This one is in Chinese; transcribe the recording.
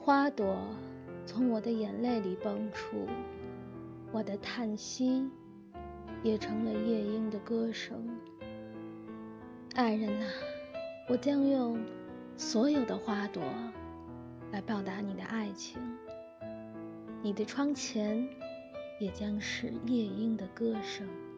花朵从我的眼泪里蹦出，我的叹息也成了夜莺的歌声。爱人啊，我将用所有的花朵来报答你的爱情，你的窗前也将是夜莺的歌声。